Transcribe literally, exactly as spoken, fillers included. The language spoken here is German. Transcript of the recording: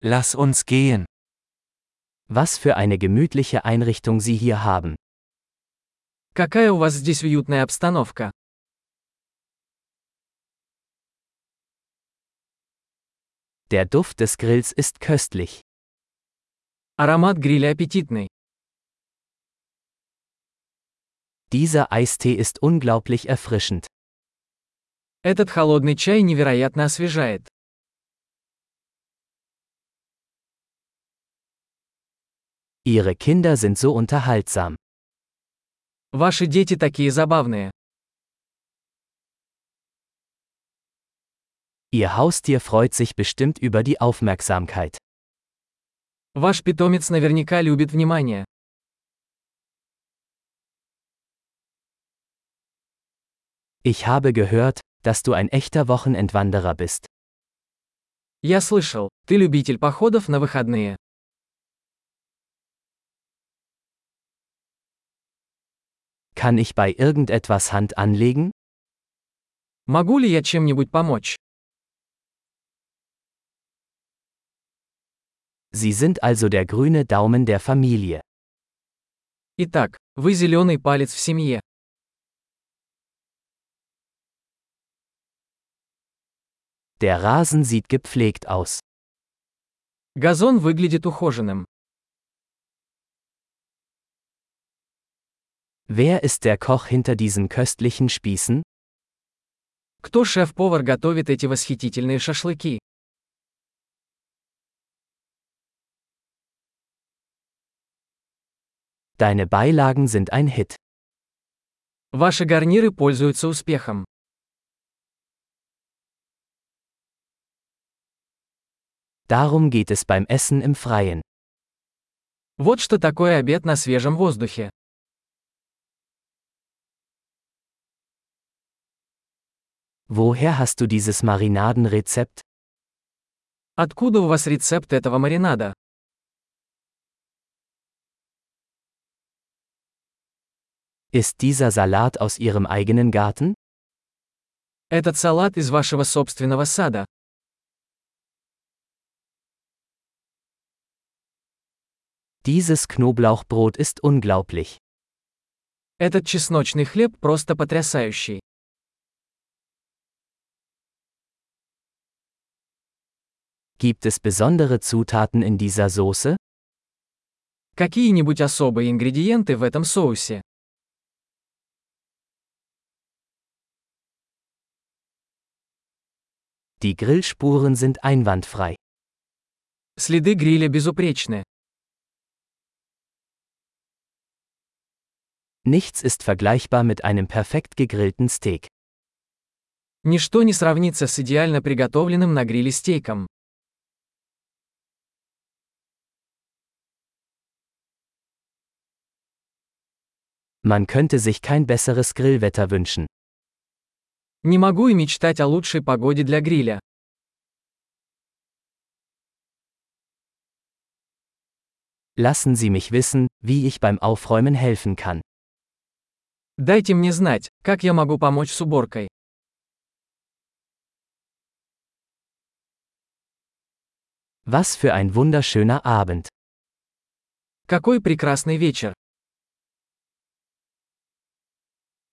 Lass uns gehen. Was für eine gemütliche Einrichtung Sie hier haben. Какая у вас здесь уютная обстановка. Der Duft des Grills ist köstlich. Аромат гриля аппетитный. Dieser Eistee ist unglaublich erfrischend. Этот холодный чай невероятно освежает. Ihre Kinder sind so unterhaltsam. Ваши дети такие забавные. Ihr Haustier freut sich bestimmt über die Aufmerksamkeit. Ваш питомец наверняка любит внимание. Ich habe gehört, dass du ein echter Wochenendwanderer bist. Я слышал, ты любитель походов на выходные. Kann ich bei irgendetwas Hand anlegen? Могу ли я чем-нибудь помочь? Sie sind also der grüne Daumen der Familie. Итак, вы зеленый палец в семье. Der Rasen sieht gepflegt aus. Газон выглядит ухоженным. Wer ist der Koch hinter diesen köstlichen Spießen? Кто шеф-повар готовит эти восхитительные шашлыки? Deine Beilagen sind ein Hit. Ваши гарниры пользуются успехом. Darum geht es beim Essen im Freien. Вот что такое обед на свежем воздухе. Woher hast du dieses Marinadenrezept? Откуда у вас рецепт этого маринада? Ist dieser Salat aus Ihrem eigenen Garten? Этот салат из вашего собственного сада. Dieses Knoblauchbrot ist unglaublich. Этот чесночный хлеб просто потрясающий. Gibt es besondere Zutaten in dieser Soße? Какие-нибудь особые ингредиенты в этом соусе? Die Grillspuren sind einwandfrei. Следы гриля безупречны. Nichts ist vergleichbar mit einem perfekt gegrillten Steak. Ничто не сравнится с идеально приготовленным на гриле стейком. Man könnte sich kein besseres Grillwetter wünschen. Не могу и мечтать о лучшей погоде для гриля. Lassen Sie mich wissen, wie ich beim Aufräumen helfen kann. Дайте мне знать, как я могу помочь с уборкой. Was für ein wunderschöner Abend. Какой прекрасный вечер!